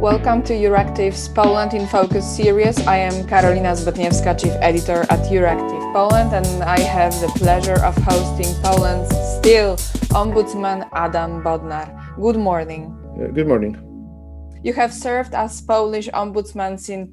Welcome to Euractiv's Poland in Focus series. I am Karolina Zbytniewska, Chief Editor at Euractiv Poland, and I have the pleasure of hosting Poland's still Ombudsman Adam Bodnar. Good morning. Good morning. You have served as Polish Ombudsman since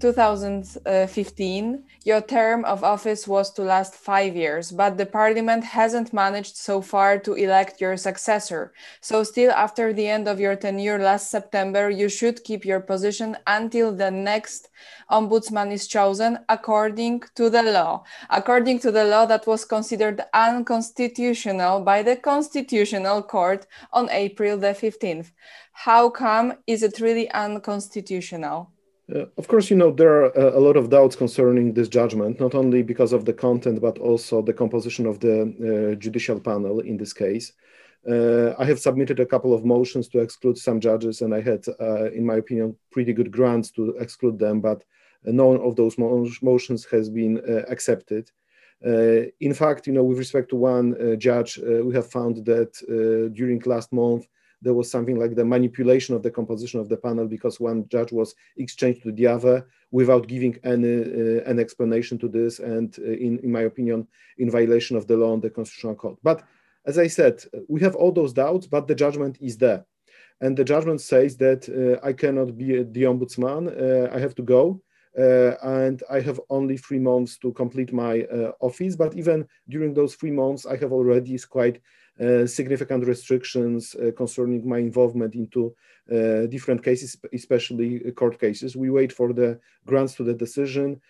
2015. Your term of office was to last 5 years, but the Parliament hasn't managed so far to elect your successor. So still after the end of your tenure last September, you should keep your position until the next Ombudsman is chosen according to the law. According to the law that was considered unconstitutional by the Constitutional Court on April the 15th. How come is it really unconstitutional? Of course, there are a lot of doubts concerning this judgment, not only because of the content, but also the composition of the judicial panel in this case. I have submitted a couple of motions to exclude some judges, and I had, in my opinion, pretty good grounds to exclude them, but none of those motions has been accepted. In fact, with respect to one judge, we have found that during last month, there was something like the manipulation of the composition of the panel because one judge was exchanged to the other without giving an explanation to this, and in my opinion, in violation of the law and the Constitutional Code. But as I said, we have all those doubts, but the judgment is there. And the judgment says that I cannot be the ombudsman, I have to go. And I have only 3 months to complete my office. But even during those 3 months, I have already quite significant restrictions concerning my involvement into different cases, especially court cases. We wait for the grounds to the decision,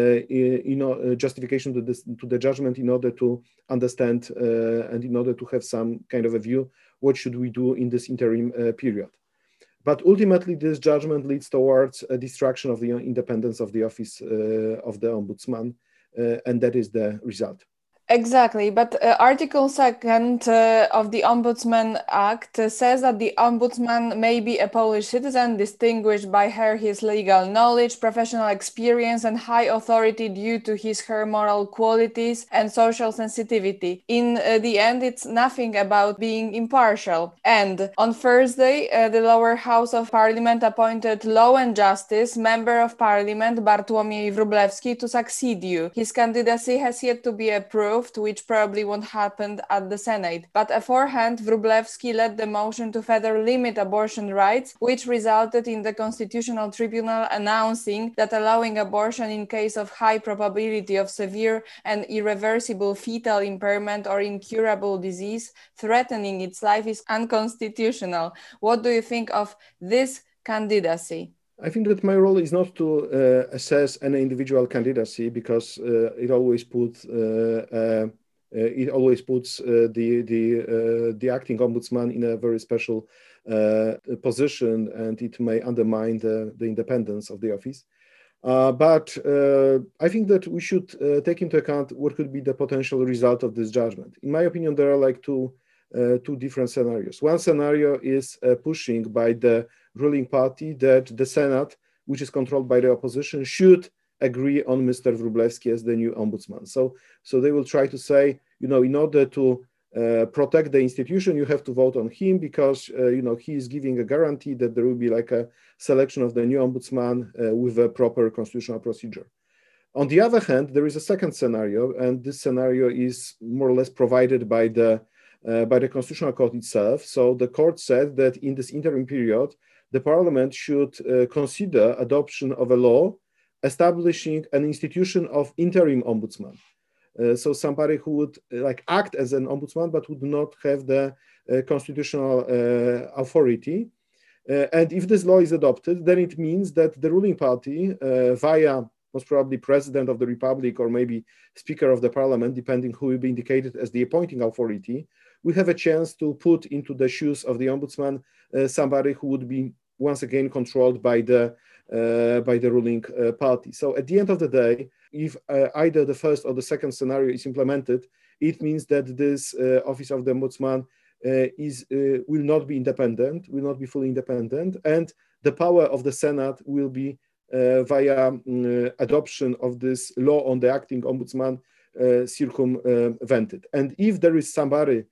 justification to the judgment in order to understand and in order to have some kind of a view, what should we do in this interim period. But ultimately, this judgment leads towards a destruction of the independence of the office of the ombudsman, and that is the result. Exactly, but Article 2nd of the Ombudsman Act says that the ombudsman may be a Polish citizen distinguished by his legal knowledge, professional experience, and high authority due to her moral qualities and social sensitivity. In the end, it's nothing about being impartial. And on Thursday, the lower house of parliament appointed Law and Justice Member of Parliament Bartłomiej Wróblewski to succeed you. His candidacy has yet to be approved, which probably won't happen at the Senate. But beforehand, Wróblewski led the motion to further limit abortion rights, which resulted in the Constitutional Tribunal announcing that allowing abortion in case of high probability of severe and irreversible fetal impairment or incurable disease threatening its life is unconstitutional. What do you think of this candidacy? I think that my role is not to assess an individual candidacy because it always puts the acting ombudsman in a very special position, and it may undermine the independence of the office. But I think that we should take into account what could be the potential result of this judgment. In my opinion, there are like two different scenarios. One scenario is pushing by the ruling party that the Senate, which is controlled by the opposition, should agree on Mr. Wróblewski as the new ombudsman. So they will try to say, in order to protect the institution, you have to vote on him because, he is giving a guarantee that there will be like a selection of the new ombudsman with a proper constitutional procedure. On the other hand, there is a second scenario, and this scenario is more or less provided by the Constitutional Court itself. So the court said that in this interim period, the parliament should consider adoption of a law establishing an institution of interim ombudsman. So somebody who would act as an ombudsman, but would not have the constitutional authority. And if this law is adopted, then it means that the ruling party, via most probably President of the Republic or maybe Speaker of the Parliament, depending who will be indicated as the appointing authority, we have a chance to put into the shoes of the ombudsman somebody who would be once again controlled by the ruling party. So at the end of the day, if either the first or the second scenario is implemented, it means that this office of the ombudsman will not be independent, will not be fully independent, and the power of the Senate will be via adoption of this law on the acting ombudsman circumvented. And if there is somebody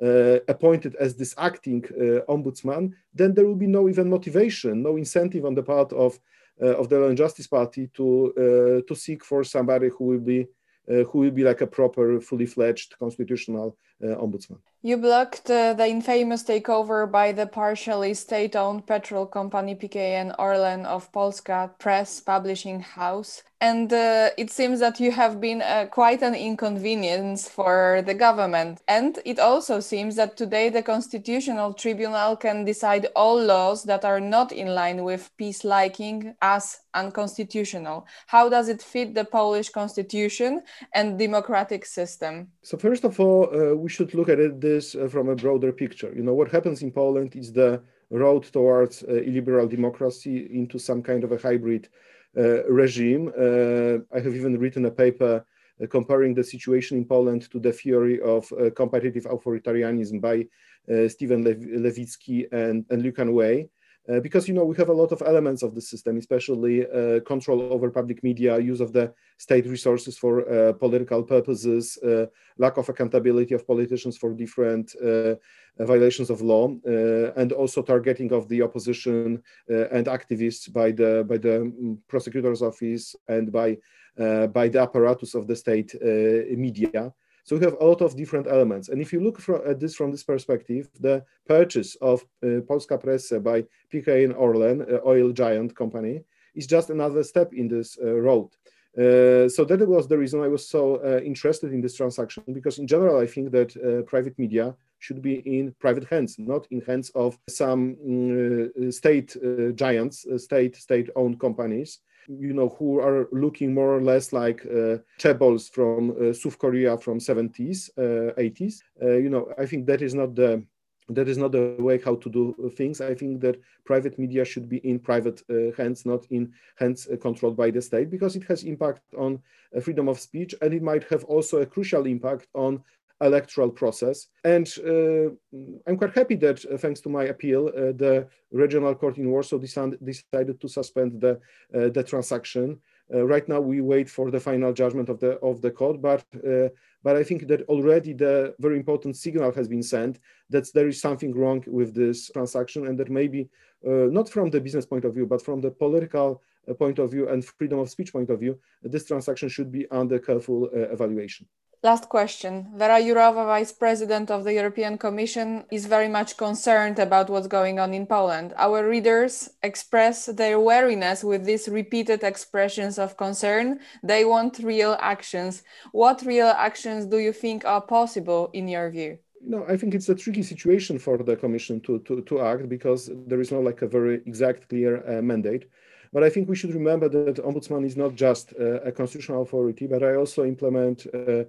appointed as this acting ombudsman, then there will be no even motivation, no incentive on the part of the Law and Justice Party to seek for somebody who will be like a proper, fully fledged constitutional ombudsman. You blocked the infamous takeover by the partially state-owned petrol company PKN Orlen of Polska Press Publishing House. And it seems that you have been quite an inconvenience for the government. And it also seems that today the Constitutional Tribunal can decide all laws that are not in line with peace liking as unconstitutional. How does it fit the Polish constitution and democratic system? So first of all, we should look at this from a broader picture. You know, what happens in Poland is the road towards illiberal democracy into some kind of a hybrid regime. I have even written a paper comparing the situation in Poland to the theory of competitive authoritarianism by Stephen Levitsky and Lucan Way. Because, you know, we have a lot of elements of the system, especially control over public media, use of the state resources for political purposes, lack of accountability of politicians for different violations of law, and also targeting of the opposition and activists by the prosecutor's office and by the apparatus of the state media. So we have a lot of different elements. And if you look at this from this perspective, the purchase of Polska Press by PKN Orlen, oil giant company, is just another step in this road. So that was the reason I was so interested in this transaction, because in general, I think that private media should be in private hands, not in hands of some state giants, state-owned companies, you know, who are looking more or less like chaebols from South Korea from 70s, 80s. You know, I think that is not the way how to do things. I think that private media should be in private hands, not in hands controlled by the state, because it has impact on freedom of speech, and it might have also a crucial impact on electoral process. And I'm quite happy that thanks to my appeal, the regional court in Warsaw decided to suspend the transaction. Right now, we wait for the final judgment of the court, but I think that already the very important signal has been sent that there is something wrong with this transaction, and that maybe not from the business point of view, but from the political point of view and freedom of speech point of view, this transaction should be under careful evaluation. Last question. Vera Jourova, Vice President of the European Commission, is very much concerned about what's going on in Poland. Our readers express their wariness with these repeated expressions of concern. They want real actions. What real actions do you think are possible in your view? No, I think it's a tricky situation for the Commission to act, because there is not like a very exact, clear mandate. But I think we should remember that Ombudsman is not just a constitutional authority, but I also implement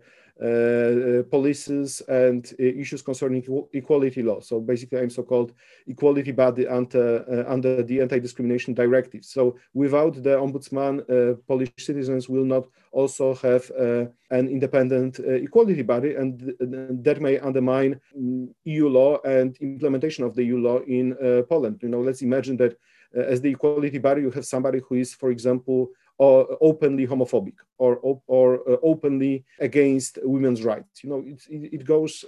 policies and issues concerning equality law. So basically, I'm so-called equality body under the Anti-Discrimination Directive. So without the Ombudsman, Polish citizens will not also have an independent equality body, and that may undermine EU law and implementation of the EU law in Poland. You know, let's imagine that as the equality body, you have somebody who is, for example, openly homophobic or openly against women's rights. You know, it goes.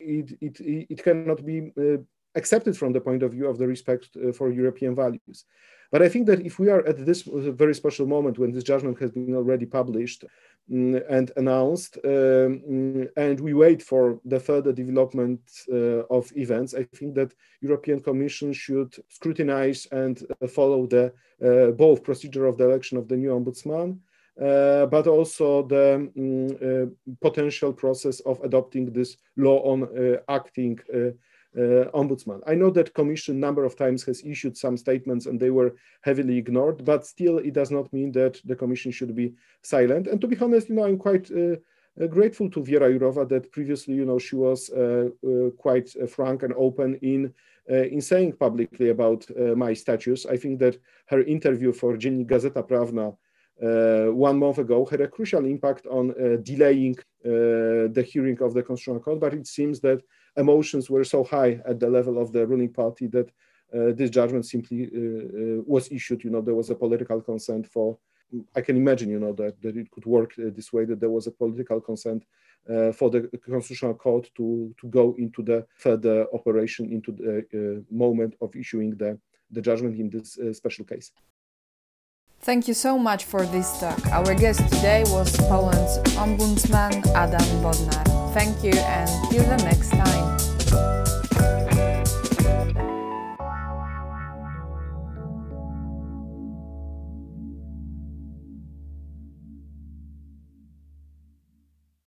It cannot be accepted from the point of view of the respect for European values. But I think that if we are at this very special moment when this judgment has been already published and announced, and we wait for the further development of events, I think that European Commission should scrutinize and follow the both procedure of the election of the new ombudsman, but also the potential process of adopting this law on acting ombudsman. I know that Commission number of times has issued some statements and they were heavily ignored, but still it does not mean that the Commission should be silent. And to be honest, you know, I'm quite grateful to Vera Jourova that previously, you know, she was quite frank and open in saying publicly about my status. I think that her interview for Dziennik Gazeta Prawna 1 month ago had a crucial impact on delaying the hearing of the Constitutional Court, but it seems that emotions were so high at the level of the ruling party that this judgment simply was issued. You know, there was a political consent for, I can imagine, you know, that it could work this way, that there was a political consent for the Constitutional Court to go into the further operation, into the moment of issuing the judgment in this special case. Thank you so much for this talk. Our guest today was Poland's Ombudsman Adam Bodnar. Thank you and till the next time.